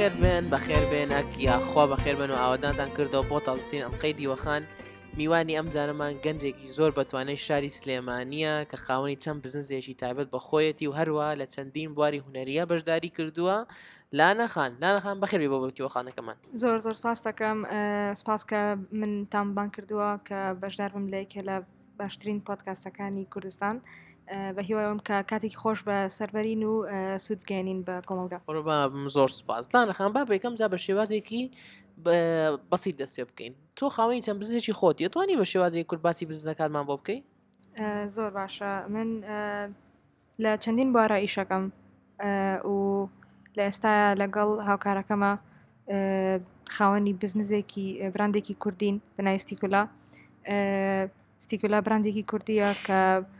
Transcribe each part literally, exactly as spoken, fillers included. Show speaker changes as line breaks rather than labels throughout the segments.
بەخێر بێن بەخێر بێنەک یاخوا بەخێر بن و ئاوادانتان کردەوە بۆ تازترین ئەڵقەی دیوەخان. میوانی ئەم جارەمان گەنجێکی زۆر بەتوانەی شاری سلێمانیە کە خاوەنی چەند بزنسێکی تایبەت بەخۆیەتی و هەروە لە چەندین بواری هونەریە بەشداری کردووە. لانەخان لانەخان بەخێر بێ بۆ بەتیوەخانەکەمان.
زۆر زۆر سپاس دەکەم، سپاس کە من تامبان کردووە کە بەشدار بم لە یەکێ لە باشترین پۆدکاستەکانی کوردستان. بە هیوایەوەم کە کاتێکی خۆش بە سەربەرین و سوود بگەێنین بە کۆمەلگا.
ڕۆبا زۆر سپاس. لانەخان با بێکەم جا بە شێوازێکی بەسیت دەست پێ بکەین. تۆ خاوەنی چەند بزنێکی خۆتی توانی بە شێوازێکی کورد باسی بزنەکانمان بۆ بکەی؟
زۆر باشە. من لە چەندین بوارە ئیشەکەم و لە ئێستاە لەگەڵ هاوکارەکەمە خاوەنی بزنسێکی براندێکی کوردین بەنای ستیکولا. ستیکولا براندێکی کوردیە کە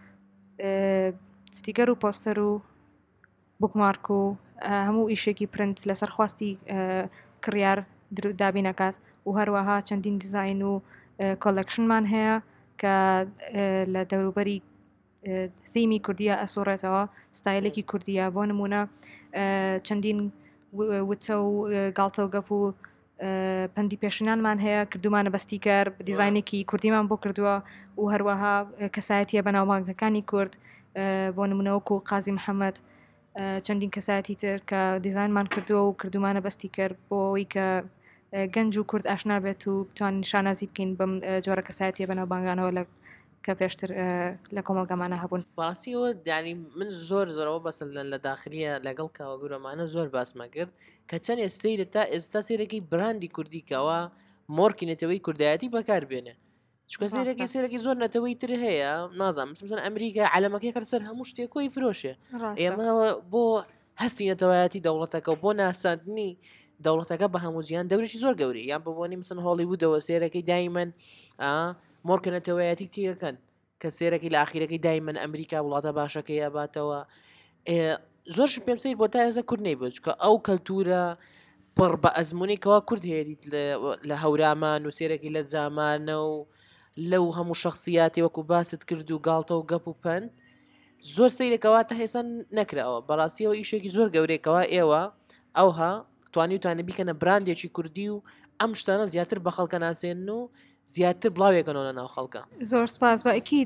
ستیکەر و پۆستەر و بوکمارک و هەموو ئیشێکی پرنت لەسەر خواستی کڕیار دابینەکات و هەروەها چەندین دیزاین و کۆلەکشنمان هەیە کە لە دەوروبەری ثیمی کوردیە ئەسۆڕێتەوە، ستایلێکی کوردیە. بۆ نمونە چەندین وتە و گاڵتە و گەپ و پەندی پێشنانمان هەیە کردومانە بەستیکەر دیزاینێکی کوردیمان بۆ کردووە و هەروەها کەسایەتیە بەناوبانگەکانی کورد، بۆ نمونەوەکو قازی محەممەد، چەندین کەسایەتی تر کە دیزاینمان کردووە و کردومانە بەستی کرد بۆ ئەوی کە گەنج و کورد ئاشنا بێت و بتوانین شانازی بکەین بەم جۆرە کەسایەتیە بەناوبانگانەوە لە کە پێشتر لە کۆمەلگەمانە هەبوون.
باسیەوە دانی من زۆر زۆرەوە بەسن لە داخلیە لەگەڵ کاوەگورەمانە زۆر باسمە کرد کە چەند ئێستەیرە تا ئێستا سێرەکەی براندی کوردی کەەوە مۆرکی نەتەوەی کوردایەتی بەکار بێنێ. چکە سێرەکی سێرەکی زۆر نەتەوەی تر هەیە نازانم مثلا ئەمریکا علەمەکەی کە سەر هەموو شتێکۆی فرۆشێ. ئێمە بۆ هەستی نەتەوایەتی دەوڵەتەکە و بۆ ناساندنی دەوڵەتەکە بە هەموو جیان دەورێکی زۆر گەوری یان ببوونی مثلا هۆلیوودەوە سێرەکەی دایمەن مۆرکە نەتەوایەتی تیەکەن کە سێرەکی لە ئاخیرەکەی دایمەن ئەمریکا وڵاتە باشەکەی یاباتەوە. زۆرش پێم سیر بۆ تا ئێزە کورد نەی بچ کە ئەو کەلتورە پڕ بە ئەزمموی کورد هێریت لە هەورامان و سێرەکی لە جامانە و لەو هەموو شخصیاتی وەکو باست کرد و گاڵتە و گەپ و پەن زۆر سیرێکەوەتە هێسان نەکراوە. بەڕاستیەوە ئیشێکی زۆر گەورەیەکەوە ئێوە ئەوها توانی وتانە بیکەنە براندێکی کوردی و ئەم شتانە زیاتر بە خەڵکە ناسێن و زیاتر بڵاوێکەنەوە ناو خەڵکە.
زۆر سپاس. بە ئەکید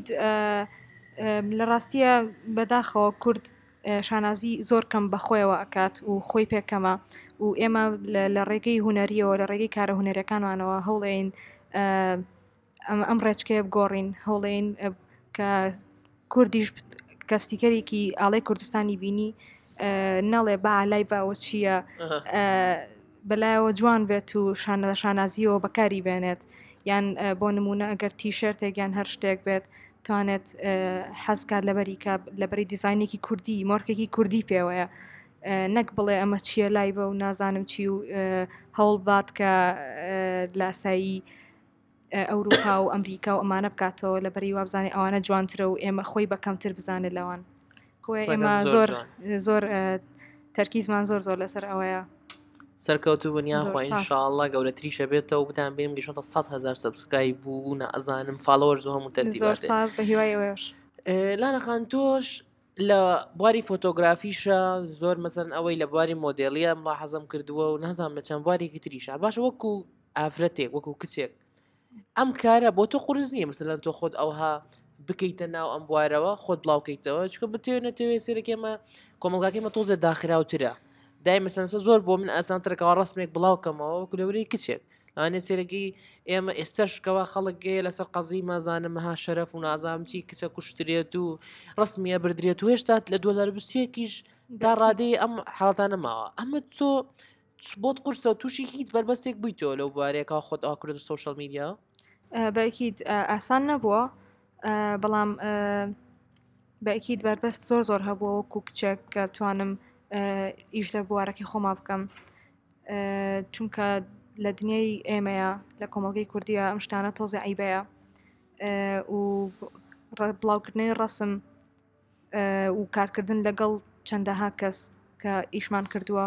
لە ڕاستیە بەداخەوە کورد شانازی زۆر کەم بەخۆیەوە ئەکات و خۆی پێکەمە و ئێمە لە ڕێگەی هوەریەوە لە ڕێگەی کارە هوەرەکانوانەوە هەوڵێن ئەم ڕێچکەیە بگۆڕین، هەوڵێن کە کوردیش کەستیکەرێکی ئاڵای کوردستانی بینی نەڵێ بەعلای باوە چییە بەلایەوە جوان بێت و شانازیەوە بەکاری بێنێت. یان بۆ نمونە ئەگەر تیشرتێک یان هەر شتێک بێت توانێت حەزکات لەبەریکە لەبەری دیزاینێکی کوردی مۆرکێکی کوردی پێوەیە، نەک بڵێ ئەمە چییە لای بە و نازانم چی و هەوڵ بات کە لاسایی ئەوروپا و ئەمریکا و ئەمانە بکاتەوە لەبەری وابزانانی ئەوانە جوانترە و ئێمە خۆی بەکەمتر بزانێت لەوان. ئێمە زۆر زۆر تەرکیزمان زۆر زۆر لەسەر ئەوەیە.
سەرکەوتو بنیاخوا ئینشاءڵڵا گەورەتریشە بێتەوە بتان بێم گەیشتە سەد هەزار سەبسکرایب بوو ئەزانم فالۆوەرز و هەموو تەرتیبات.
زۆر سپاس بە هیوای ئەوەش.
لانەخان تۆش لە بواری فۆتۆگرافیشە زۆر مەسەن ئەوەی لە بواری مۆدێڵیە ملاحەزەم کردووە و نازانم لە چەند بوارێکی تریشە باشە وەکو ئافرەتێک وەکو کچێک ئەم کارە بۆ تۆ قورس نییە مثلەن تۆ خۆت ئەوها بکەیتە ناو ئەم بوارەوە خۆت بڵاوکەیتەوە چکە بتێ نەتەوێت سێرەکێمە کۆمەلگاکەمە تۆزێ داخراوترە دای مەسەنسە زۆر بۆ من ئاسانترەکەەوە ڕستمێک بڵاوکەمەوە وەکو لەورەی کچێک ئەوانێ سێرەکی ئێمە ئێستەشکەوە خەڵک گەیە لەسەر قەزی مازانم مەها شەرەف و نازام چی کچە کوشترێت و ڕستمیە بردرێت و هێشتا لە دوو هەزار و بیست و یەکیش دا ڕادەی ئەم حاڵەتانە ماوە. ئەمە تۆ بۆت قورسە و تووشی هیچ بەربەستێک بوویتەوە لەو بوارێکەوە خۆت ئاوا کرد سۆشەڵ میدیا؟
بەئەکید ئاسان نەبووە، بەڵام بەئەکید بەربەست زۆر زۆر هەبووە وەکو کچێک کە توانم ئیش لە بوارەکەی خۆما بکەم، چونکە لە دنیای ئێمەیە لە کۆمەڵگەی کوردیە ئەم شتانە تۆزی عیبەیە و بڵاوکردنەوەی ڕەسم و کارکردن لەگەڵ چەندەها کەس کە ئیشمان کردووە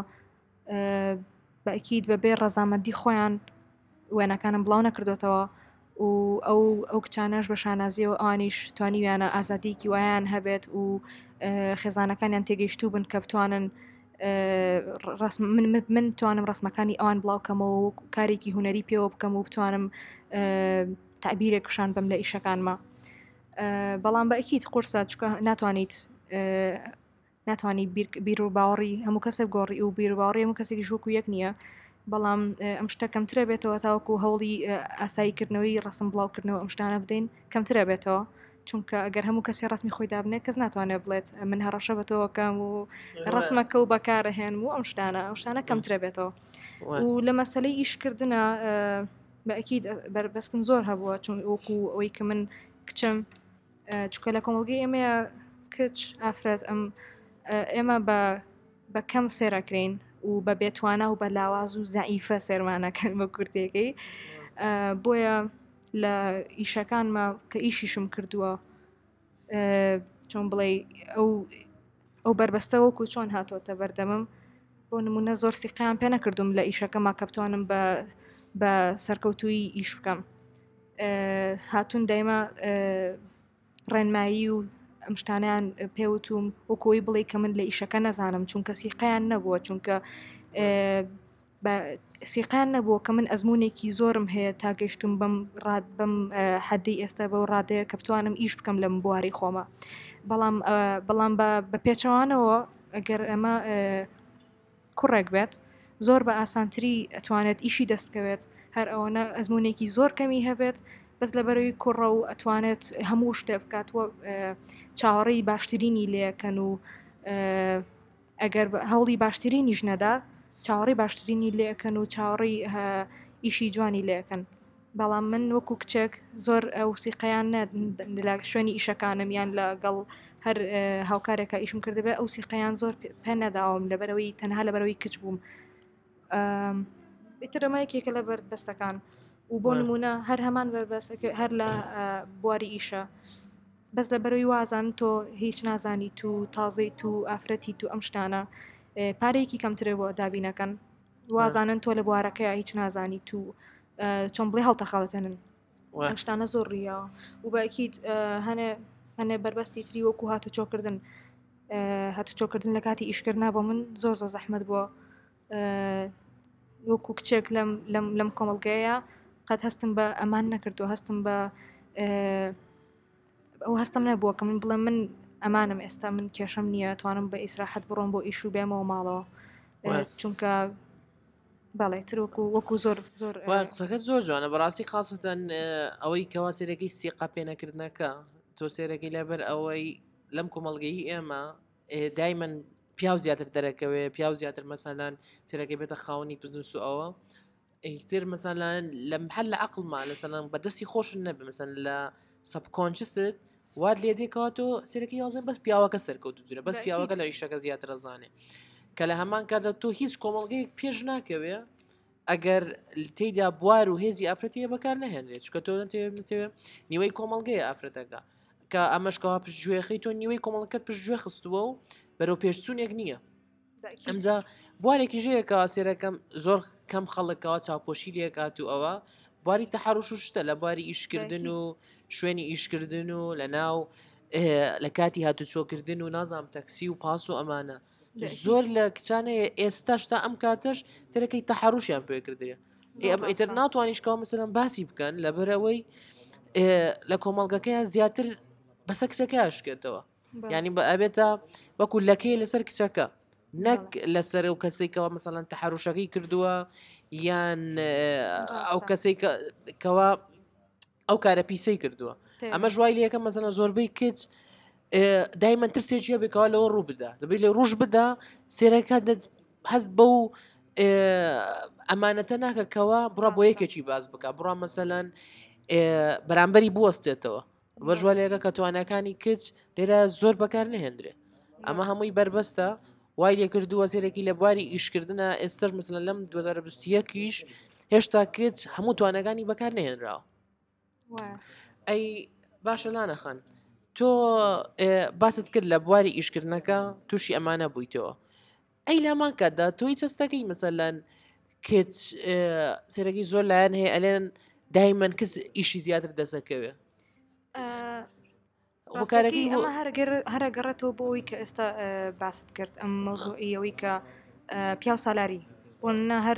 بەئەکید بەبێ ڕەزامەندی خۆیان وێنەکانم بڵاو نەکردوێتەوە و ئەو ئەو کچانەش بە شانازیەوە ئەوانیش توانیویانە ئازادیکی وایان هەبێت و خێزانەکانیان تێگەیشتوو بن کە بتوانن ڕسم من من توانم ڕسمەکانی ئەوان بڵاوکەمەوە و کارێکی هوەری پێوە بکەم و بتوانم تعبیرێکشان بم لە ئیشەکانمە. بەڵام بە ئەکییت قورسە چکە ناتوانیت ناتوانانی بیر و باوەڕی هەموو کەسێک گۆڕی و بیر و باوەڕی هەموو کەسێکی ژووک و یەک نییە. بەڵام ئەم شتە کەمترە بێتەوە تاوەکو هەوڵی ئاساییکردنەوەی ڕسم بڵاوکردنەوە ئەم شتانە بدەین کەمترە بێتەوە، چونکە ئەگەر هەموو کەسی ڕسمی خۆی دابنێت کەس ناتوانێت بڵێت من هەڕەشە بەتەوەکەم و ڕسمەکە و بەکارەهێن و ئەم شتانە ئەم شتانە کەمترە بێتەوە. و لە مەسلەی ئیشکردنە بە ئەکیید بربەستم زۆر هەبووە، چون وەکو ئەوەی کە من کچم چکە لە کۆمەڵگەی ئێمەیە کچ ئافرەت ئەم ئێمە بە کەم سێرەکرین و بە بێتوانە و بە لاواز و زەعیفە سێرمانەکەن بە کورتێکەی. بۆیە لە ئیشەکانمە کە ئیشیشم کردووە چۆن بڵێ ئەو ئەو بربەستە وەکو چۆن هاتۆتە بەردەمم. بۆ نمونە زۆر سیقیان پێ نەکردوم لە ئیشەکەما کە بتوانم بە سەرکەوتووی ئیش بکەم. هاتوون دایمە ڕێنمایی و ئەم شتانیان پێوتوم وەکۆی بڵێ کە من لە ئیشەکە نەزانم، چونکە سیقیان نەبووە، چونکە سیقیان نەبووە کە من ئەزمونێکی زۆرم هەیە تا گەیشتم بم بم حەدی ئێستا بە ڕادەیە کە بتوانم ئیش بکەم لەم بواری خۆمە. بەڵام بەڵام بە پێچەوانەوە ئەگەر ئەمە کوڕێک بێت زۆر بە ئاسانتری ئەتوانێت ئیشی دەست بکەوێت، هەر ئەوەنە ئەزمونێکی زۆر کەمی هەبێت بەس لەبەرەوەی کوڕە و ئەتوانێت هەموو شتێ بکاتوە چاوەڕێی باشترینی لێەکەن و ئەگەر هەوڵی باشترینیش نەدا چاوەڕێی باشترینی لێەکەن و چاوەڕێی ئیشی جوانی لێەکەن. بەڵام من وەکو کچێک زۆر ئەو سیقەیان لە شوێنی ئیشەکانم یان لەگەڵ هەر هاوکارێکە ئیشم کردبێ ئەو سیقەیان زۆر پێ نەداوم لەبەرەوەی تەنها لەبەرەوەی کچ بووم. ئیتر ئەمایەکێکە لە بەربەستەکان و بۆ نمونە هەر هەمان بەربەستەکە هەر لە بواری ئیشە بەس لەبەرەوەی وازان تۆ هیچ نازانی تو تازەی تو ئافرەتی تو ئەم شتانە پارەیەکی کەمترێ بۆ دابینەکەن وازانن تۆ لە بوارەکەی هیچ نازانی تو چۆن بڵێ هەڵتەخەڵەتەنن ئەم شتانە زۆر ڕیاوە و باکیت هەنێ هەنێ بربەستی تری وەکو هاتو چۆکردن هاتو چۆکردن لە کاتی ئیشکردنا بۆ من زۆر زۆر زەحمەت بووە. وەکو کچێک لەم کۆمەڵگەیە قەت هەستم بە ئەمان نەکردو، هەستم بە ئەو هەستم نەبووە کە من بڵێ من ئەمانم ئێستا من کێشەم نییە توانم بە ئیسراحەت بڕۆم بۆ ئیش و بێمەوە ماڵەوە، چونکە باڵێ تر وەکو وەکو زۆر زۆر
قسەکەت زۆر جوانە بەڕاستی خاستەن ئەوەی کەوا سێرەکەی سیقا پێنەکردنەکە تۆ سێرەکەی لەبەر ئەوەی لەم کۆمەڵگەی ئێمە دایمەن پیاو زیاتر دەرەکەوێ پیاو زیاتر مەسەلەن سێرەکەی بێتە خاوەنی بزنس و ئەوە ئیتر مەسەلەن لە محل لە عەقڵما لەسەلەن بەدەستی خۆشن نەبێ مەسەلەن لە سەبکۆنشست وات لێ دێکەوە تۆ سێرەکەی یاڵزێن بەس پیاوەکە سەرکەوتوترە بەس پیاوەکە لە ئیشەکە زیاتر ئەزانێ کە لە هەمان کاتە تۆ هیچ کۆمەڵگەیەک پێش ناکەوێ ئەگەر تێیدا بوار و هێزی ئافرەتەیە بەکار نەهێنرێت چکە تۆ نەتەوێ نیوەی کۆمەڵگەیە ئافرەتەکە کە ئەمەشکەوا پشتگوێخی تۆ نیوەی کۆمەڵەکەت پشتگوێ خستووە و بەرەو پێشچوونێک نییە. ئەمجا بوارێکی ژەیەکەوە سێرەکەم زۆر کەم خەڵکەوە چاوپۆشی لێکات و ئەوە بواری تەحەڕوش و شتە لە بواری ئیشکردن و شوێنی ئیشکردن و لە ناو لە کاتی هاتوچۆکردن و نازام تەکسی و پاس و ئەمانە زۆر لە کچانەیە ئێستاشتا ئەم کاتەش تەرەکەی تەحەڕوشیان پێ کردێ ئیتر ناتوانیشکەوە مەسەلەن باسی بکەن لەبەرەوەی لە کۆمەڵگەکەیان زیاتر بەسە کچەکە ئاشکێتەوە یعنی بە ئەبێتە وەکو لەکەی لەسەر کچەکە نەک لەسەر و کەسێکەوە مەسەلەن تەحەڕوشەکەی کردووە یان ئەو کەسێکەوە ئەو کارە پیسەی کردووە ئەمە ژوای لەکە مەسەلەن زۆربەی کچ دایمەن ترسێکیە بێکەوە لەوە ڕوو بدا دەبێت لێ ڕوش بدا سێرەکە هەست بە و ئەمانەتە ناکەکەوە بڕە بۆ یەکێکی باز بکە بڕە مەسەلەن بەرامبەری بوەستێتەوە بە ژوالەکە کە توانەکانی کچ لێرە زۆر بەکار نەهێنرێ ئەمە هەمووی بربەستە وای لێ کردووە سێرەکی لە بواری ئیشکردنە ئێستش مەسەلەن لەم دوو هەزار و بیست و یەکیش هێشتا کچ هەموو توانەکانی بەکار نەهێنراوە. ئەی باشە لانەخەن تۆ باست کرد لە بواری ئیشکردنەکە تووشی ئەمانە بوویتەوە ئەی لامان کاتدا تۆی چەستەکەی مەسەلەن کچ سێرەکی زۆر لایەن هەیە ئەلێن دایمەن کەس ئیشی زیاتر دەسەکەوێ
هەرگەڕێتەوە بۆ ئەوی کە ئێستا باست کرد ئەم مەوزوعی ئەوەی کە پیاو سالاری بۆنە هەر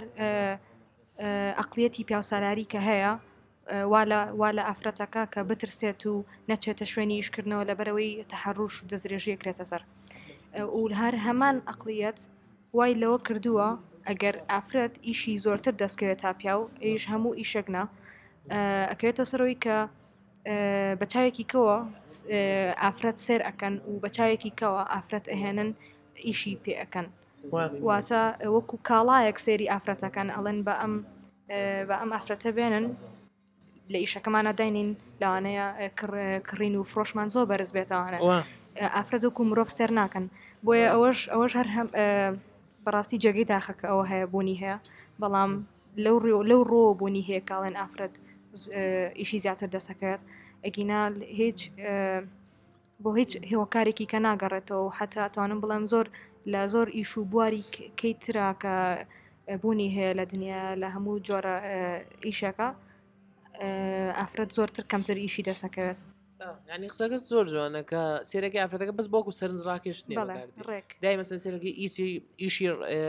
ئەقلیەتی پیاو سالاری کە هەیە وا لە ئافرەتەکە کە بترسێت و نەچێتە شوێنی ئیشکردنەوە لەبەرەوەی تەحەڕوش و دەستدرێژیە کرێتە سەر و هەر هەمان ئەقلیەت وای لەوە کردووە ئەگەر ئافرەت ئیشی زۆرتر دەستکەوێت تا پیا و ئیش هەموو ئیشەکنا ئەکەوێتە سەرەوەی کە بە چاوێکی کەوە ئافرەت سێر ئەەکەن و بە چاوێکی کەوە ئافرەت ئەهێنن ئیشی پێ ئەەکەن واتە وەکو کاڵایەک سێری ئافرەتەکەن ئەڵێن بە ئەم بە ئەم ئافرەتە بێنن لە ئیشەکەمانە داینین لەوانەیە کڕین و فرۆشمان زۆر بەرز بێتەوانە ئافرەت وەکو مرۆڤ سێر ناکەن بۆیە ئەوەش ئەوەش هەر بەڕاستی جێگەی داخەکە ئەوە هەیە بوونی هەیە بەڵام لەو لەو ڕۆ بوونی هەیە کاڵێن ئافرەت ئیشی زیاتر دەسەکەوێت ئەگینا هیچ بۆ هیچ هێوەکارێکی کە ناگەڕێتەوە حتا توانم بڵێم زۆر لە زۆر ئیش و بواری کەیترا کە بوونی هەیە لە دنیا لە هەموو جۆرە ئیشەکە ئافرەت زۆرتر کەمتر ئیشی دەسەکەوێت
ینی قسەکەت زۆر جوانە کە سێرەکە ئافرەتەکە بەس بۆکو سەرنجڕاکێشتنی دای مەسەن سێرەکەی ئیسی ئیشی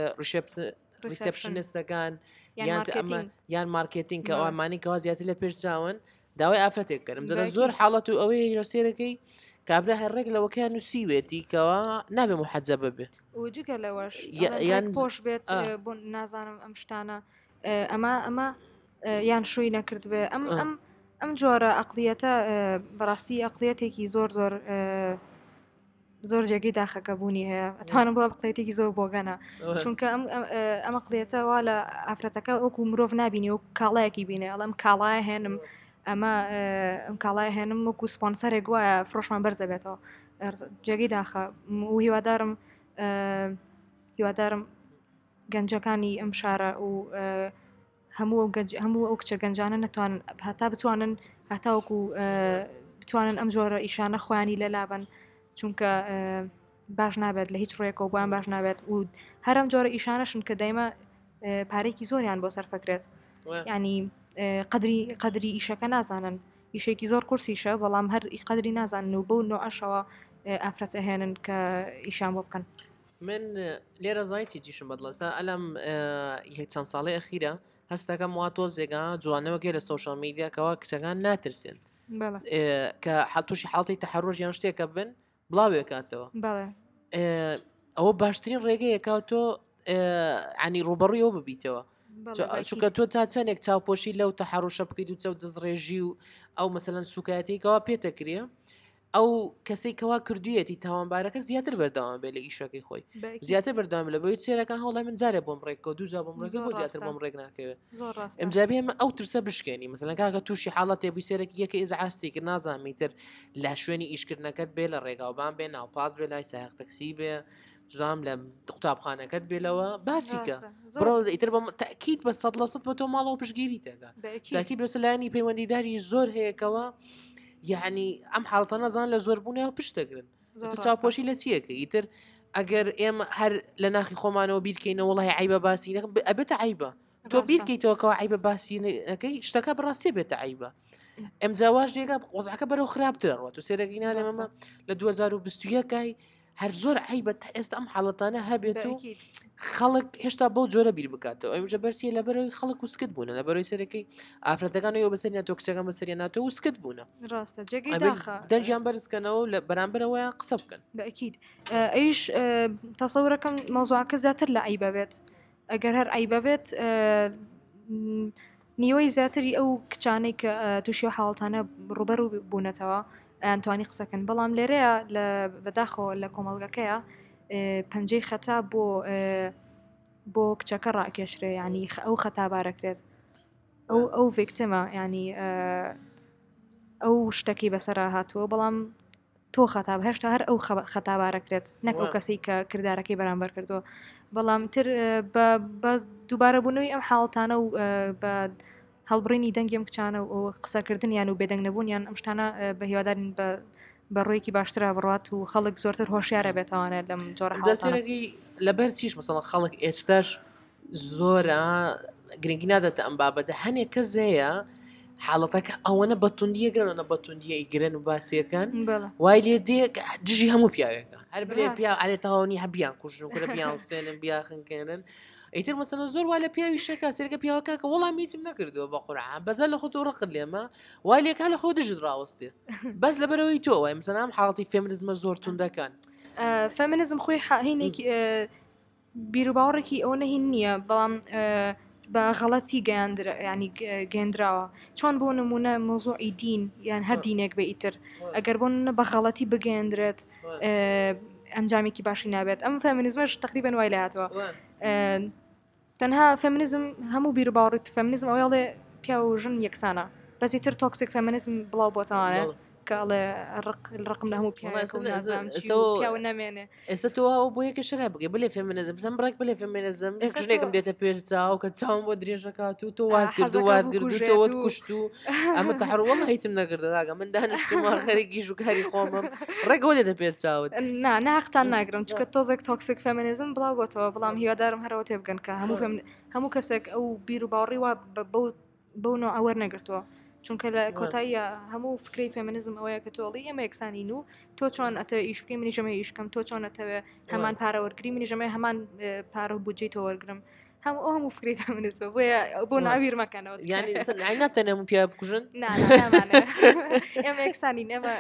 ریسپشنستەکان یان مارکتینگ کە ئەومانی کەوا زیاتر لە پێش چاون داوای ئافرەتێک کردم جە زۆر حاڵەت و ئەوەی لە سێرەکەی کابرا هەرڕێک لەوەکەیان نووسیوێتی کەوا نابێ محەجە ببێ
وجگە لەوەش یان پۆش بێت بۆ نازانم ئەم شتانە ئەمە ئەمە یان شووی نەکرد بێ ئەم ئەم ئەم جۆرە ئەقلیەتە بەڕاستی ئەقلیەتێکی زۆر زۆر زۆر جێگەی داخەکە بوونی هەیە ئەتوانم بڵە بقلێتێکی زۆر بۆگەنە چونکە ئەم ئەمە قلێتەوە لە ئافرەتەکە وەکو مرۆڤ نبینی و کاڵایەکی بینێ ئەڵەم کاڵایە هێنم ئەمە ئەم کاڵایە هێنم وەکو سپۆنسەرێک وایە فرۆشمان بەرزە بێتەوە جێگەی داخە و هیوادارم هیوادارم گەنجەکانی ئەم شارە و هەموو هەموو ئەو کچە گەنجانە نەتوانن هەتا بتوانن هەتاوەکو بتوانن ئەم جۆرە ئیشانە خۆیانی لەلابن چونکە باش نابێت لە هیچ ڕێکەوە بۆیان باش نابێت و هەرم جۆرە ئیشانەشن کە دایمە پارێکی زۆریان بۆ سەرفەکرێت ینی قدری قدری ئیشەکە نازانن ئیشێکی زۆر قورسیشە بەڵام هەر قدری نازانن و بەو نۆعەشەوە ئافرەت ئەهێنن کە ئیشان بۆ بکەن
من لێرە زایتی جیشم بەدڵستا ئەلم یەک چەند ساڵی ئەخیرە هەستەکەم وا تۆزێگا جوانەوەگەی لە سوشال میدیاکەوە کچەکان ناترسێن کە حتوشی حڵی تەحەڕۆژ یان شتێکە بن بڵاوێ کاتەوە ئەوە باشترین ڕێگەیەکە تۆ عنی ڕوبەڕوویەوە ببیتەوە چونکە تۆ تا چەندێک چاوپۆشی لەو تەحەڕۆشە بکەیت و چەو دەستڕێژی و ئەو مەسەلەن سوکایەتێکەوە پێتەکرێ ئەو کەسێکەوە کردویەتی تاوانبارەکە زیاتر بەردەوام بێ لە ئیشەکەی خۆی زیاتر بەردەوام لە بۆی چێرەکە هەوڵای من جارێ بۆم ڕێکەوە دووجا بۆم ڕێک بۆ زیاتر بۆم ڕێک ناکەوێت ئەمجابێ ئەمە ئەو ترسە بشکێنی مەسەلەن کاکە تووشی حاڵەتێ بووی سێرەکی یەکە ئیزعاستی کرد نازانمی تر لە شوێنی ئیشکردنەکەت بێ لە ڕێگاوبان بێ ناوپاس بێ لای سایق تەکسی بێ زام لە قوتابخانەکەت بێلەوە باسیکە بڕۆ ئیتر بە تاکید بە سەد لە سەد بە تۆ ماڵەوە پشگیری تێدا تاکید بەسە لایانی پەیوەندیداری زۆر هەیەکەوە یعنی ئەم حاڵتە نەزان لە زۆربوونیەوە پشتەگرن چاوپۆشی لە چیەکە ئیتر ئەگەر ئێمە هەر لە ناخی خۆمانەوە بیرکەینەوە وڵی عیبە باسی ئەبێتە عیبە تۆ بیرکەیتەوەکەوە عیبە باسیەکەی شتەکە بڕاستی بێتە عیبە ئەم جاواش جێگا وەزعەکە بەرەو خراپترەوە تو سێرەگینا لێمەمە لە دوو هەزار و بیست و یەکای هەر زۆر عیبە تا ئێستا ئەم حاڵەتانە هەبێت و خەڵک هێشتا بەو جۆرە بیر بکاتەوە ئەوجە بەرسیە لە بەرەوەی خەڵک و سکت بوونە لە بەرەوەی سەرەکەی ئافرەتەکانەوە بەسەریان تۆ کچەکان بەسەریان ناتەوە و سکت بوونە دەنجیان بەرزکەنەوە لە بەرامبەرەوەیان قسە بکەن
بەئەکید ئەیش تەسەورەکەم مەوزوعەکە زیاتر لە عیبە بێت ئەگەر هەر عیبە بێت نیوەی زیاتری ئەو کچانەی کە تووشی حاڵتانە ڕوبەر و بوونەتەوە ئەتوانی قسەکەن بەڵام لێرەیە لە بەداخەوە لە کۆمەڵگەکەیە پەنجەی خەتا بۆ بۆ کچەکە ڕاکێشرێ ینی ئەو خەتابارەکرێت ئەو ئەو ڤیکتمە ینی ئەو شتێکی بەسەرا هاتووە بەڵام تۆ خەتاب هێشتا هەر ئەو خەتابارەکرێت نەک ئەو کەسی کە کردارەکەی بەرامبەر کردووە بەڵام تر بە دووبارە بوونەوەی ئەم حاڵتانە و بە هەڵبڕینی دەنگی ئەم کچانە و قسەکردنیان و بێدەنگ نەبوونیان ئەم شتانە بە هیوادارین بە بە ڕۆیکی باشترا بڕات و خەڵک زۆرتر هۆشیارە بێتوانێت لەم جۆرە
حاڵەتانەی لەبەر چیش مەسەڵەن خەڵک ئێستاش زۆرە گرنگی نادەتە ئەم بابەتە هەنێک کەس هەیە حاڵەتەکە ئەوەنە بەتوندیەگەرەوە بەتوندیە ئیگرن و باسیەکان
بەڵێ
وای لێ دێ دژی هەموو پیاوێکە هەر بلێ پیا ئالێ تاوانی هەبیان کوژن کورە بیانستێنن بیاخنکێنن ئیتر مەسەنە زۆر وا لە پیاوی شەکە سێرگە پیاوەکە کە وەڵام هیچم نەکردووە بە قورعان بەزە لە خۆت ڕقت لێمە وای لێکا لە خۆ دژت ڕاوەستێ بەس لەبەرەوەی تۆ وای مەسەنام حاڵەتی فێمینیزمە زۆر توندەکان
فێمینیزم خۆی هینێکی بیر و باوەڕێکی ئەوە نەهین نییە بەڵام بە غەڵەتی گەیاندرا ینی گەێنراوە چۆن بۆ نمونە مۆزوعی دین یان هەر دینێک بە ئیتر ئەگەر بۆ بە غەڵەتی بگەێنرێت ئەنجامێکی باشی نابێت ئەم فێمینیزمەش تقریبەن وای لاتەوە تەنها فێمینیزم هەموو بیر و باوەڕی فێمینیزم ئەوڵێ پیا و ژن یەکسانە بەسی تر تۆکسیک فێمینیزم بڵاو بۆتەوانە کاڵێ ڕقم لە هەموو پیاوە نامێنێ
ئێستا تۆ بۆ یەکە شرا بگەی بلێ فێمینیزم زەم بڕێک بلێ فێمینیزم شتێکم دێتە پێش چاو کە چاوم بۆ درێژەکات و تۆ وازگرد و وارگرد و تۆوەت کوشت و ئەمە تەحڕوەڵە هیچم نەکردەگە من دانیشتم خەرێکی ژووکاری خۆمم ڕێگەوە دێتە پێش چاوت
نا ناقتان ناگرم چکە تۆزێک تۆکسیک فێمینیزم بڵاو بۆتەوە بەڵام هیوادارم هەرەوە تێ بگەن کە هەموو هەموو کەسێک ئەو بیر و باوەڕی وا بەو نوع ئەوەر نەگرتووە چونکە لە کۆتاییە هەموو فکری فێمینیزم ئەوەیە کە تۆڵی ئەمە یەکسانین و تۆ چۆن ئەتە ئیشکی منی ژەمە ئیشکەم تۆ چۆن ئەتەوێ هەمان پارە وەرگری منی ژەمە هەمان پارە و بودجەی تۆ وەرگرم هەموو ئەو هەموو فکری فێمینیزمە بۆیە بۆ ناویر مەکەنەوە
یعنی ناتەنێ هەموو پیا بکوژن
ئێمە یەکسانین ئێمە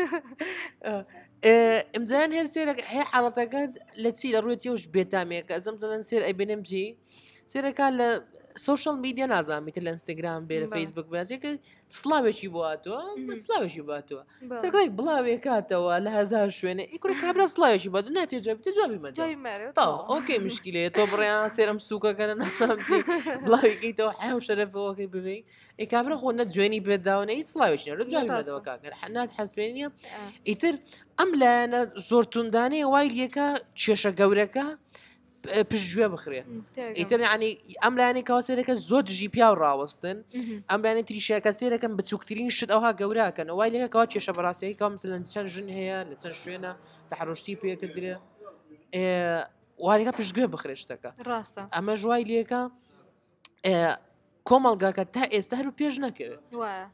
ئەمجان هەر سێرە هەیە حاڵەتەکەت لە چی لە ڕوێتیەوەش بێتامێکە ئەزەم زەن سێر ئەیبێنم جی سێرەکە لە سوشل میدیا نازانیتە لە ئینستاگرام بێ لە فەیسبوک بازێکە سلااوێکی بواتەوە سلااوێکی باتەوە سەرگای بڵاوێکاتەوە لە هزار شوێنە ئیکڕ کابرا سلااوێکی بات ناتێ جوابی جوابی مە ئۆکەی مشکلێ تۆ بڕیان سێرم سووکەکەە نامچی بڵاوێکیتەوە حیا و شەرەفەوەکەی ببێ ئەی کابرا خۆ نە جوێنی بێداونەی سلااوێکی لە جوابی مەدەوە کاکەر حنات حەسبێنیە ئیتر ئەم لایەنە زۆر توندانەیە وای لێکە کێشە گەورەکە پشتگوێ بخرێ ئیتر ینی ئەم لایەنی کاوەسێرەکە زۆر دژی پیا و ڕاوەستن ئەم لایەنی تریشەکە سێرەکەم بچووکترین شت ئەوها گەوراکەن وای لێکە کاوا کێشە بەڕاستەیە کا مثلەن چەند ژن هەیە لە چەند شوێنە تەحڕۆشتی پێکردرێ وایەکە پشتگوێ بخرێ شتەکە
ڕاستە
ئەمە ژوای لێکە کۆمەڵگاکە تا ئێستا هەر پێش نەکەوێت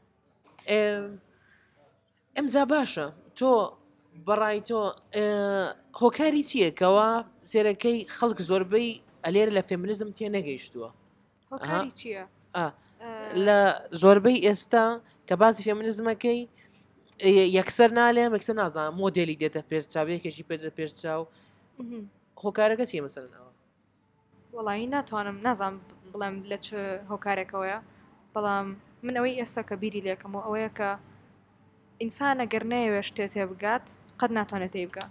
ئەمجا باشە تۆ بەڕای تۆ هۆکاری چیەکەوە سێرەکەی خەڵک زۆربەی ئەلێرە لە فێمینیزم تێ نەگەیشتووە
هۆکاری چییە
لە زۆربەی ئێستا کە باسی فێمینیزمەکەی یەکسەر نالێم یەکسەر نازانم مۆدێلی دێتە پێش چاوێکێکی پێدە پێش چاو هۆکارەکە چیە مەسەرنەوە
وەڵی ناتوانم نازانم بڵێم لە چ هۆکارێکەوەیە بەڵام من ئەوەی ئێستا کە بیری لێکم و ئەوەیە کە ئینسانە گەر نەیەوێ شتێت تێ بگات قەت ناتوانێت تێ بگات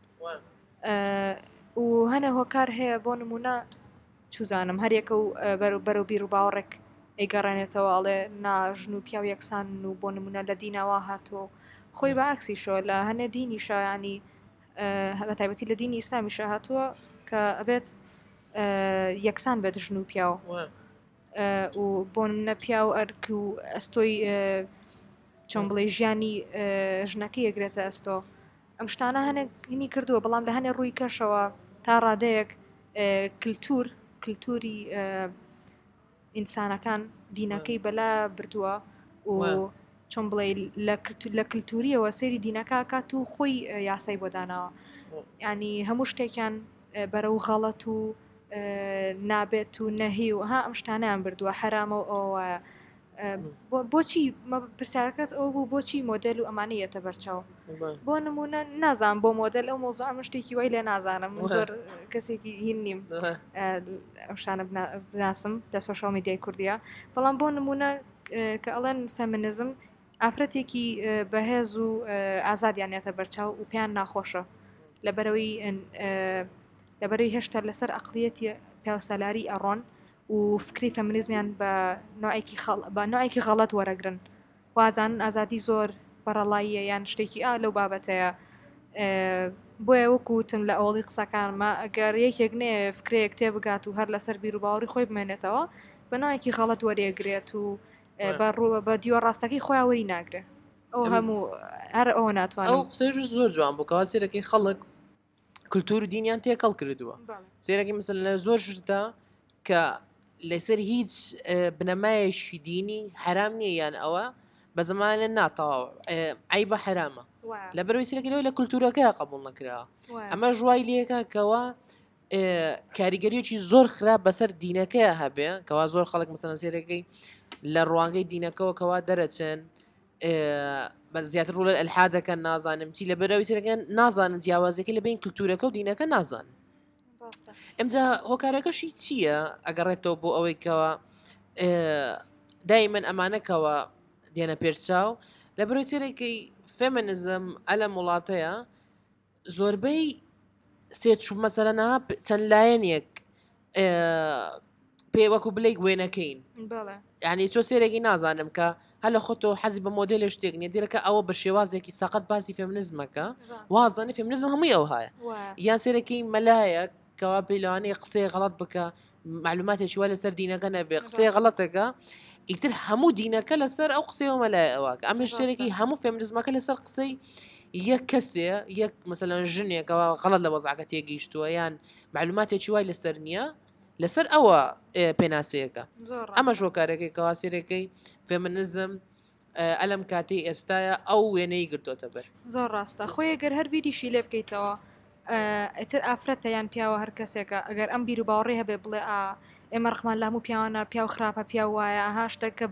و هەنە هۆکار هەیە بۆ نمونە چوزانم هەرێکە و بەرەو بیر و باوەڕێک ئەیگەڕێنێتەوە ئەڵێ ناژن و پیا و یەکسان و بۆ نمونە لە دیناوا هاتۆ خۆی بە عکسی شۆ لە هەنە دینی شایانی بە تایبەتی لە دینی ئیسلامیشە هاتووە کە ئەبێت یەکسان بێت ژن و پیاوە و بۆ نمونە پیا و ئەرک و ئەستۆی چۆن بڵێ ژیانی ژنەکەی یەگرێتە ئەستۆ ئەم شتانە هەنێنی کردووە بەڵام لە هەنێ ڕووی کەشەوە تا ڕادەیەک کللتور کللتوری ئینسانەکان دینەکەی بەلا بردووە و چۆن بڵێ لە کللتوریەوە سەیری دینەکە کات و خۆی یاسای بۆ داناوە ینی هەموو شتێکیان بەرەو غەڵەت و نابێت و نەهی و ها ئەم شتانیان بردووە حرامە و ئەوە بۆچی پرسیارەکەت ئەو بوو بۆچی مۆدل و ئەمانەیەتە بەرچاو بۆ نمونە نازانم بۆ مۆدل ئەو مۆزوع ئەم شتێکی وای لێ نازانم زۆر کەسێکی هین نیم ئەو شانە بناسم لە سۆشال میدیای کوردیە بەڵام بۆ نمونە کە ئەڵێن فەمینیزم ئافرەتێکی بەهێز و ئازادیانێتە بەرچاو و پێیان ناخۆشە لەبەرەوەی لەبەرەوەی هێشتا لەسەر عەقڵیەتی پیاوسەلاری ئەڕۆن و فکری فەمینیزمیان بە نوعێکی بە نوعێکی غەڵەت وەرەگرن وازان ئازادی زۆر بەڕەڵاییە یان شتێکی ئا لەو بابەتەیە بۆیە وەکوتم لە ئەوڵی قسەکانمە ئەگەر یەکێک نێ فکرەیەک تێ بگات و هەر لەسەر بیر و باوەڕی خۆی بمێنێتەوە بە نوعێکی غەڵەت وەرێگرێت و بە دیوە ڕاستەکەی خۆیان وەری ناگرێت ئەو هەموو هەر ئەوە ناتوانێت
ئەو قسەش زۆر جوان بووکەوە سێرەکەی خەڵک کللتور و دینیان تێکەڵ کردووە سێرەکی مثل لە زۆر شتە کە لەسەر هیچ بنەمایەکی دینی حرام نییە یان ئەوە بە زمانە ناتەواو ئەی بە حرامە لە بەرەوەی سەرەکە لەوەی لە کولتورەکە قبول نەکراوە ئەمە ژوای لێکە کەوا کاریگەریەکی زۆر خراپ بەسەر دینەکەی هەبێ کەوا زۆر خەڵک مەسەڵەن سێرەکەی لە ڕوانگەی دینەکەەوە کەوا دەرەچێن بە زیاتر ڕوو لە ئەلحادەکە نازانم چی لە بەرەوەی سەرەکەن نازانن جیاوازەکە لە بین کولتورەکە و دینەکە نازان ئەمجا هۆکارەکەشی چییە ئەگەڕێتەوە بۆ ئەوەی کەوە دای من ئەمانەکەوە دێنە پێرچاو لە بەرەوەی سێرەکەی فێمەنزم ئەلە وڵاتەیە زۆربەی سێچوو مەسەرەنە چەند لایەنێک پێ وەکو بلەی وێنەکەین یعنی چۆ سێرەی نازانم کە هەلە خۆتۆ حەزی بە مۆدلێ شتێک نیە دیرەکە ئەوە بە شێوازێکی سەقەت باسی فێمنزمەکە وازانانی فێمنزم هەمووی ئەو هەیە یان سێرەکەی مەلایە کەوا پێیلوانەیە قسەی غەڵەت بکە معلوماتێکی وا لەسەر دینەکە نەبێ قسەی غەڵەتەکە ئیتر هەموو دینەکە لەسەر ئەو قسەوە مەلای ئەوواکە ئەمە شتێکی هەموو فێمنزمەکە لەسەر قسەی یەک کەسێ یەک مەسەلەن ژنێکەوە غەڵەت لە وەزعەکە تێگەیشتووە یان معلوماتێکی وای لەسەر نییە لەسەر ئەوە پێناسەیەەکە ئەمە ژۆکارەکەی کەواسیرەکەی فێمنزم ئەلم کاتی ئێستاە ئەو وێنەی گرتوۆتە بەر
زۆر ڕاستە خۆی گەر هەر بیریشی لێ بکەیتەوە ئەتر ئافرەتە یان پیاوە هەر کەسێکە ئەگەر ئەم بیر و باوەڕێ هەبێ بڵێ ئا ئێمە ڕخمان لە هەموو پیاوانە پیا و خراپە پیا وایە ئاها شتەکە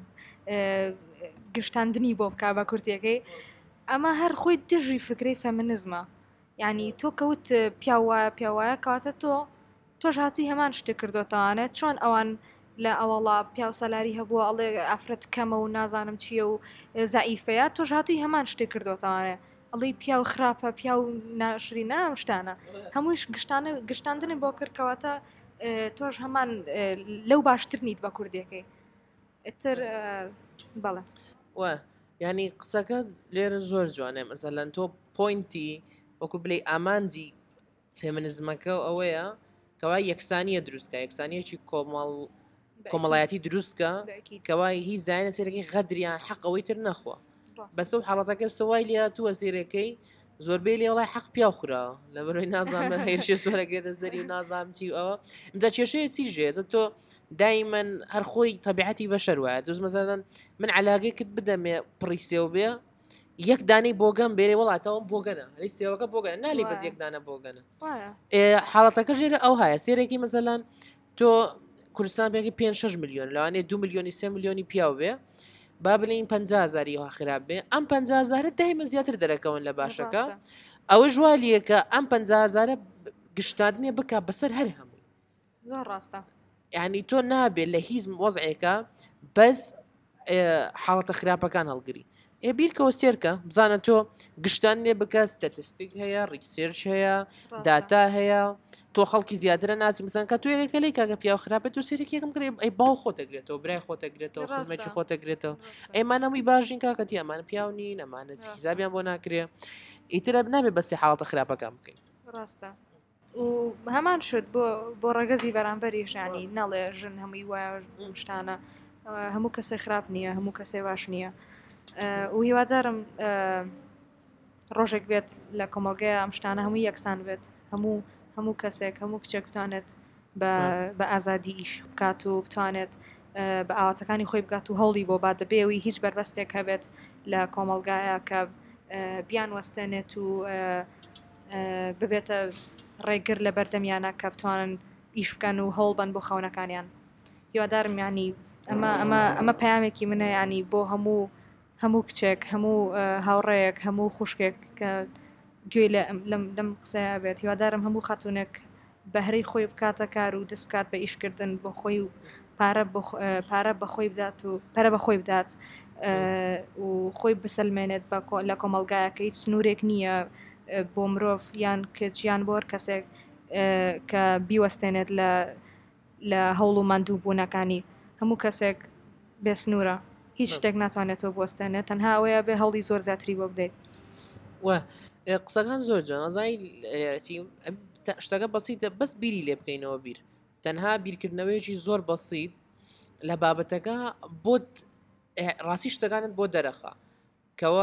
گشتاندنی بۆ بک بە کورتەکەی ئەمە هەر خۆی دژی فکری فەمنزمە یعنی تۆ کەوت پیا وایە پیا وایە کاتە تۆ تۆش هاتووی هەمان شتێک کردوتانێت چۆن ئەوان لە ئەوەڵا پیا و سەلاری هەبووە ئەڵێ ئافرەت کەمە و نازانم چییە و زائیفەیە تۆش هاتووی هەمان شتێک کردوتانێ ئەڵی پیا و خراپە پیا و ناشری نام شتانە هەموویش گشتانە گشتاندنی بۆ کردکەواتە تۆش هەمان لەو باشتر نیت بە کوردیەکەی ئتر بەڵێ
وە ینی قسەکە لێرە زۆر جوانێ مەسەلەن تۆ پۆینتی وەکو بڵێ ئامانجی فێمنزمەکە ئەوەیە کەوا یەکسانیە دروستکە یەکسانیەکی کۆمەڵ کۆمەڵایەتی دروستکە کەوای هیچ زانە سێرەکەی غەدریان حەقەوەی تر نەخوا بەستە و حاڵەتەکە سوای لێ تووە سێرەکەی زۆربەی لێ وڵای حەق پیا خوراوە لە بەرۆی نازانمە هێرشێ زۆرەکێتە سەری و نازام چی ئەوە ئەمدا کێشەیە چی ژێزە تۆ دایمەن هەر خۆی تەبیعەتی بەشەر وایە دوز مەزەن من علاگەی کرد بدەمێ پڕیسێ و بێ یەک دانەی بۆگەم بێرێ وڵاتەوە بۆگەنە هەلی سێوەکە بۆگەنە نالی بەس یەک دانە بۆگەنە حاڵەتەکە ژێرە ئەو هەیە سێرەکی مەزەلان تۆ کوردستان بێکی پێ شش میلیۆن لەوانێ دو میلیۆنی سێ میلیۆنی پیاو بێ با بڵین پەنجا هەزاری وا خراپ بێ ئەم پەنجا هەزارە دایمە زیاتر دەرەکەون لە باشەکە ئەوە ژوالیەکە ئەم پەنجا هەزارە گشتاندنێ بکە بەسەر هەر هەمووی
زۆر ڕاستە
یعنی تۆ نابێت لە هیچ وەزعێکە بەس حاڵەتە خراپەکان هەڵگری ئێ بیرکەوە سێرکە بزانە تۆ گشتاندنێ بکە ستەتستیک هەیە ڕیسێرچ هەیە داتا هەیە تۆ خەڵکی زیاترە ناسی مثلا کە توێگەکە لی کاگە پیا خراپێت و سێرەکێکم کرێ ئەی باو خۆتەگرێتەوە برای خۆتەگرێتەوە خزمەتی خۆتەگرێتەوە ئەیمانەمووی باشین کاکەتی ئەمان پیاونی نەمانە حیزابیان بۆ ناکرێ ئیترە نابێت بەسی حاڵەتە خراپەکان بکەین
ڕاستە و هەمان شت بۆ بۆ ڕەگەزی بەرامبەری ژانی نەڵێ ژن هەمووی وایە شتانە هەموو کەسێک خراپ نییە هەموو کەسێ باش نییە و هیوادارم ڕۆژێک بێت لە کۆمەلگەیە ئەم شتانە هەمووی یەکسان بێت هەموو هەموو کەسێک هەموو کچێک بتوانێت بە ئازادی ئیش بکات و بتوانێت بە ئاواتەکانی خۆی بگات و هەوڵی بۆ بات بەبێەوەی هیچ بربەستێک هەبێت لە کۆمەلگایە کە بیان وەستێنێت و ببێتە ڕێگر لە بەردەمیانە کە بتوانن ئیش بکەن و هەوڵ بن بۆ خەونەکانیان هیوادارم ینی ئەمە ئەمە ئەمە پەیامێکی منە ینی بۆ هەموو هەموو کچێک هەموو هاوڕێیەک هەموو خوشکێک کە گوێ لەم قسەیە بێت هیوادارم هەموو خاتونێک بەهرەی خۆی بکاتە کار و دەست بکات بە ئیشکردن بۆ خۆی و پارە بە خۆی بدات و پەرە بە خۆی بدات و خۆی بسەلمێنێت لە کۆمەلگایەکە هیچ سنوورێک نییە بۆ مرۆڤ یان کچیان بۆ کەسێک کە بیوەستێنێت لە هەوڵ و ماندوو بوونەکانی هەموو کەسێک بێ سنوورە هیچ شتێک ناتوانێتەوە بوەستێنێت تەنها ئەوەیە بێ هەوڵی زۆر زیاتری بۆ بدەیت
وە قسەکان زۆر جوانزای شتەکە بەسیتە بەس بیری لێ بکەینەوە بیر تەنها بیرکردنەوەیەکی زۆر بەسیت لە بابەتەکە بۆ ڕاستی شتەکانت بۆ دەرەخە کەوە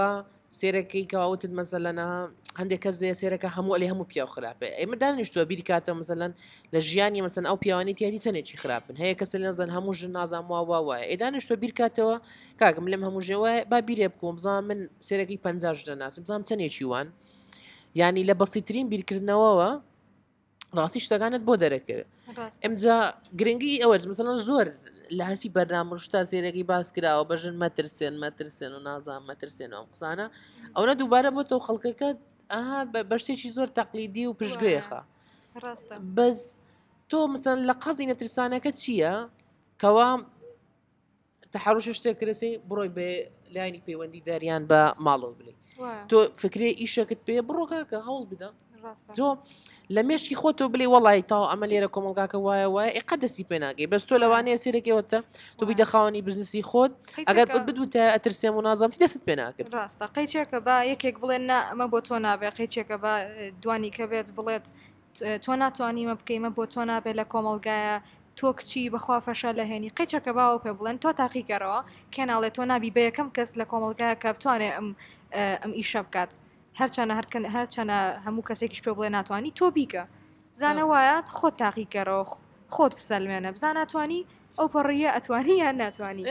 سێرەکەی کەواوتت مەسەلەنە هەندێک کەس دێ سێرەکە هەموو لێ هەموو پیا و خراپێ ئێمە دانیشتووە بیری کاتە مەسەلەن لە ژیانی مەسەن ئەو پیاوانی تیاری چەندێکی خراپن هەیە کەس نەزان هەموو ژن نازان وا وا وایە ئێ دانیشتووە بیر کاتەوە کاکەم لەم هەموو ژێوە با بیرێ بکۆم بزانم من سێرەکەی پەنجاش دەناسم بزانم چەندێکی وان یعنی لە بەسیترین بیرکردنەوەوە ڕاستی شتەکانت بۆ دەرەکەوێت ئەمجا گرنگی ئەوە مەسەلەن زۆر لە هەرچی بەرنامەشتا سێرەکەی باس کراوە بەژن مەترسێن مەترسێن و نازان مەترسێن ئەو قسانە ئەوە دووبارە بۆ تەو خەڵکەکەت ئاها بە شتێکی زۆر تەقلیدی و پشتگوێخە بەس تۆ مەسەن لە قەزی نەترسانەکە چییە کەوا تەحەڕوش شتێک کرسی بڕۆی بێ لایانی پەیوەندی داریان بە ماڵەوە بڵێ تۆ فکرێ ئیشەکەت پێ بڕۆ کاکە هەوڵ بدە تۆ لە مێشکی خۆتۆ بڵێ وەڵی تا ئەمە لێرە کۆمەڵگاکە وایە وایە ئێقە دەستی پێ ناگەی بەس تۆ لەوانەیە سێرەکەوەتە تۆ بیدە خاوەنی بزنسی خۆت ئەگەر بدوتە ئەترسێم و نازانم دەست پێ ناکرد
ڕاستە قەیچێکە بە یەکێک بڵێن نا ئەمە بۆ تۆ نابێ قەیچێکە بە دوانی کە بێت بڵێت تۆ ناتوانیمە بکەیمە بۆ تۆ نابێت لە کۆمەڵگایە تۆ کچی بەخوا فەشە لە هێنی قەیچەکە باوە پێ بڵێن تۆ تاقیکەرەوە کێناڵێت تۆ نابی بە یەکەم کەس لە کۆمەڵگایە کە بتوانێت ئەم ئەم ئیشە بکات هەرچەنە هەرکەن هەرچەنە هەموو کەسێکیش پێ بڵێ ناتوانانی تۆ بیکە بزانە وایە خۆت تاقیکەرەوە خۆت بسەلمێنە بزان ناتوانانی ئەو پەڕیە ئەتوانی یان ناتوانانی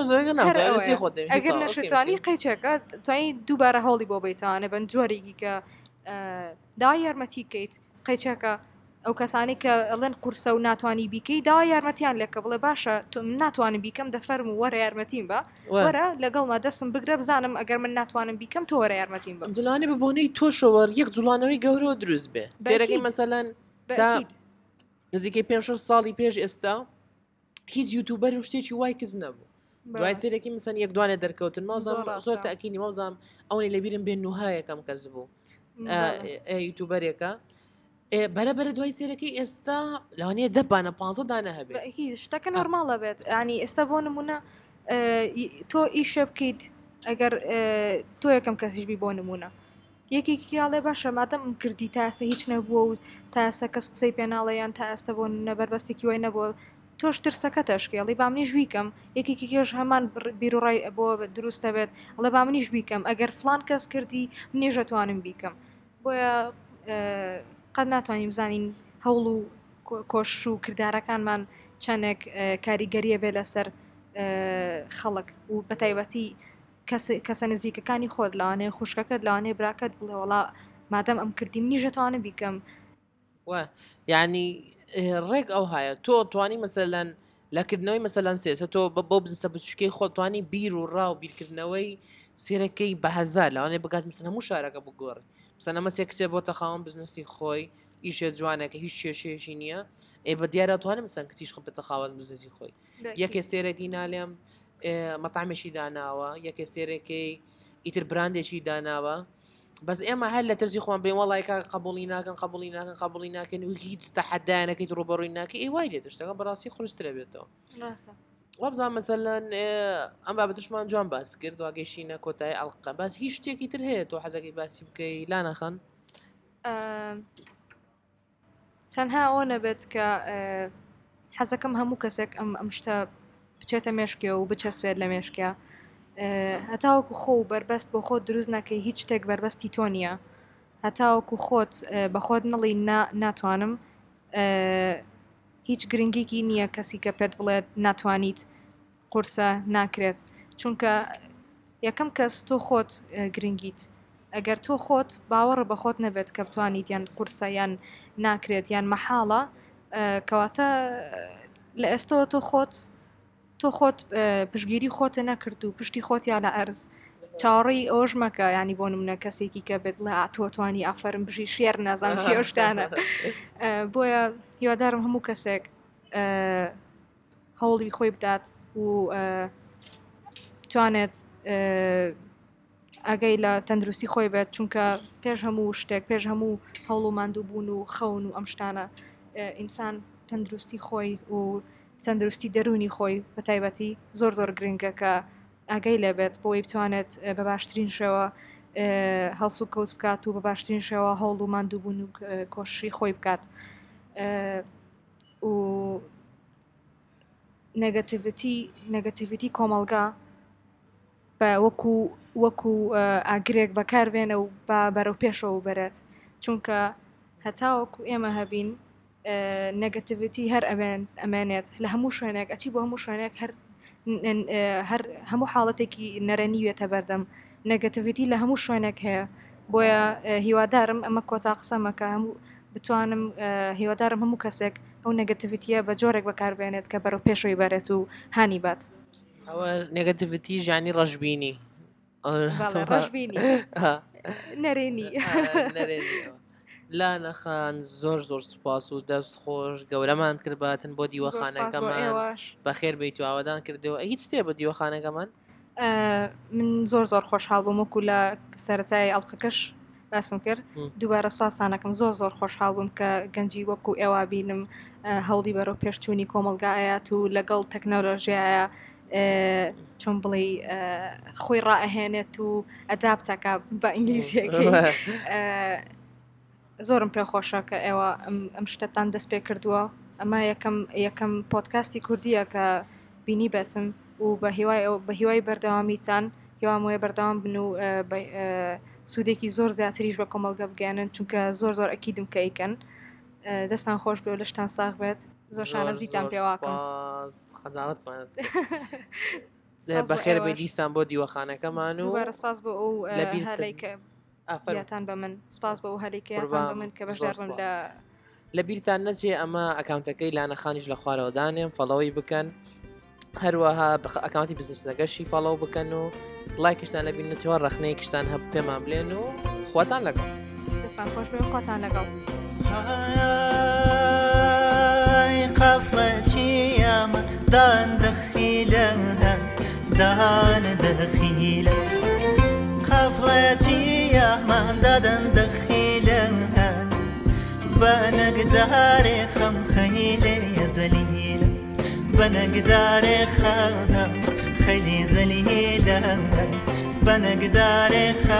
ئەگەر نەشتوانی قەیچێکە توانی دووبارە هەڵی بۆ بیتوانە بن جۆرێکی کە داوای یارمەتی بکەیت قەیچەکە ئەو کەسانی کە ئەڵێن قورسە و ناتوانانی بیکەی داوای یارمەتیان لێکە بڵێ باشە تۆ من ناتوانم بیکەم دەفەرم و وەرە یارمەتیم بە وەرە لەگەڵما دەستم بگرە بزانم ئەگەر من ناتوانم بیکەم تۆ وەرە یارمەتیم بە
جوڵانێ بە بۆنەی تۆشەوە یەک جوڵانەوەی گەورەوە دروست بێ سێرەکەی مەسەلەن نزیکەی پێ شەش ساڵی پێش ئێستا هیچ یوتوبەر و شتێکی وای کەس نەبوو دوای سێرەکی مەسەن یەک دوانێ دەرکەوتن مازم زۆر تاکینی مەوزام ئەوەی لەبیرم بێن نوهایەکەم کەس بوو یوتوبەرێکە بەرەبەرە دوای سێرەکەی ئێستا لەوانەیە دەبانە پانزە دانە هەبێت
شتەکە نۆرماڵە بێت ینی ئێستا بۆ نمونە تۆ ئیشە بکەیت ئەگەر تۆ یەکەم کەسیشبی بۆ نمونە یەکێکیاڵێ باشە مادەم ئەم کردی تا ئێستا هیچ نەبووە و تا ئێستا کەس قسەی پێناڵەیان تا ئێستا بۆ نەبەربەستێکی وای نەبووە تۆش ترسەکە تەشکێڵی با منیش بیکەم یەکێکی کێش هەمان بیرڕای بۆ دروستە بێت ئەڵێ با منیش بیکەم ئەگەر فلان کەس کردی منیش دەتوانم بیکەم بۆیە قەت ناتوانین بزانین هەوڵ و کۆش و کردارەکانمان چەندێک کاریگەریە بێ لەسەر خەڵک و بەتایبەتی کەسە نزیکەکانی خۆت لەوانەیە خوشکەکەت لەوانەیە براکەت بڵێ وڵا مادەم ئەم کردی منیش دەتوانم بیکەم
یعنی ڕێک ئەو هەیە تۆ توانی مەسەلەن لەکردنەوەی مەسەلەن سێسە تۆ بۆ بزنسە بچووکەی خۆ توانی بیر و ڕاو بیرکردنەوەی سێرەکەی بە هەزار لەوانەیە بگات مەسەن هەموو شارەکە بگۆڕی مەسەن ئەمە سێ کچێ بۆتە خاوەن بزنسی خۆی ئیشێ جوانەکە هیچ کێشێشی نییە ئێ بە دیارە توانم مەسەن کچیش خە بێتە خاوەن بزنسی خۆی یەکێ سێرەکی نالێم مەتامێکی داناوە یەکێ سێرەکەی ئیتر براندێکی داناوە بەس ئێمە هەر لە ترسی خۆم بێن وڵایکە قبولی ناکەن قبولی ناکەن قبولی ناکەن و هیچ تەحەدایەکەیت ڕوبەڕووی ناکە ئێ وای لێت شتەکە بەڕاستی خروسترە بێتەوە وابزان مەسەلەن ئەم بابەتشمان جوان باس کرد واگەیشتینە کۆتایی ئەڵقە باس هیچ شتێکی تر هەیە تۆ حەزەکەی باسی بکەی لا نەخەن
تەنها ئەوە نەبێت کە حەزەکەم هەموو کەسێک ئەم ئەم شتە بچێتە مێشکێ و بچەسبێت لە مێشکە هەتاوەکو خۆ و بربەست بۆ خۆت دروست نەکەی هیچ شتێک بربەستی تۆ نییە هەتاوەکو خۆت بە خۆت نەڵی ناتوانم هیچ گرنگێکی نییە کەسی کە پێت بڵێت ناتوانیت قورسە ناکرێت چونکە یەکەم کەس تۆ خۆت گرنگیت ئەگەر تۆ خۆت باوەڕە بە خۆت نەبێت کە بتوانیت یان قورسە یان ناکرێت یان مەحاڵە کەواتە لە ئێستەوە تۆ خۆت تۆ خۆت پشگیری خۆتە نەکرد و پشتی خۆت یا لە ئەرز چاڕی ئەوش مەکە ینی بۆ نمونە کەسێکی کە بێت بڵێ تۆتوانی ئافرم بژی شێر نازان کێشتانە بۆیە هیوادارم هەموو کەسێک هەوڵی خۆی بدات و توانێت ئەگەی لە تەندروستی خۆی بێت چونکە پێش هەموو شتێک پێش هەموو هەوڵ و ماندوو بوون و خەون و ئەم شتانە ئینسان تەندروستی خۆی و تەندروستی دەرونی خۆی بە تایبەتی زۆر زۆر گرنگە کە ئاگەی لێبێت بۆی بتوانێت بە باشترین شێوە هەڵس و کەوت بکات و بە باشترین شێوە هەوڵ و ماندوو بوون و کۆشی خۆی بکات و نەگەتیڤیتی نەگەتیڤیتی کۆمەڵگا وەکو وەکو ئاگرێک بەکاربێنە و با بەرەو پێشەوە بەرێت چونکە هەتاوەکو ئێمە هەبین نەگەتیڤیتی هەر ئەمێنێت لە هەموو شوێنێک ئەچی بۆ هەموو شوێنێک هەر هەموو حاڵەتێکی نەرەنیوێتە بەردەم نەگەتیڤیتی لە هەموو شوێنێک هەیە بۆیە هیوادارم ئەمە کۆتا قسەمەکە هەموو بتوانم هیوادارم هەموو کەسێک ئەو نەگەتیڤیتیە بە جۆرێک بەکاربێنێت کە بەرەو پێشەوەی بەرێت و هانی بات
ئەوە نێگەتیڤیتی ژانی ڕەشبینی
ڕەشبینی نەرێنی
لا نەخان زۆر زۆر سوپاس و دەست خۆش گەورەمان کردباتن بۆ دیوەخانەکەمان بەخێر بیت و ئاوادان کردەوە هیچ شتێ بە دیوەخانەکەمان
من زۆر زۆر خۆشحاڵ بووم وەکو لە سەرەتای ئەڵلقەکەش باسم کرد دووبارە سواسانەکەم زۆر زۆر خۆشحاڵ بووم کە گەنجی وەکو ئێوە بینم هەوڵی بەرەو پێشچوونی کۆمەلگایەت و لەگەڵ تەکنۆلۆژیایە چۆن بڵێ خۆی ڕائەهێنێت و ئەدابتەکە بە ئینگلیزیەکەی زۆرم پێخۆشە کە ئێوە ئەم شتتان دەست پێ کردووە ئەمە یەکەم یەکەم پۆدکاستی کوردیە کە بینی بێتم و بە هیوای بە هیوای بەردەوامیتان هیوام وێ بەردەوام بن و سوودێکی زۆر زیاتریش بە کۆمەلگە بگەێنن چونکە زۆر زۆر ئەکیدم کە ئیکەن دەستان خۆش بێ و لەشتان ساغ بێت زۆر شانەزیتان پێواکەم
خەجاڵت بەخێر بێ دیسان بۆ دیوەخانەکەمان و
سپاس بۆ ئەو هەلەیکە یاتان بە من سپاس بە ئەو هەلێکیاتان بە من کە بەشدار بم لە
لە بیرتان نەچێ ئەمە ئەکاونتەکەی لانەخانیش لە خوارەوە دانێم فەڵەوەی بکەن هەروەها ئەکاونتی بزنسەکەشی فەڵەو بکەن و لایکشتان لەبین نەچەوە ڕەخنەیەکشتان هەب پێمان بڵێن و خواتان لەگەڵ
دەستان خۆش بێ و خواتان لەگەڵ
قفلتي ياما دان دخيلة دان دخيلة قفلتي ياما دان دخيلة بنقداري خم خيلة يا زليلة بنقداري خم خيلي زليلة بنقداري خم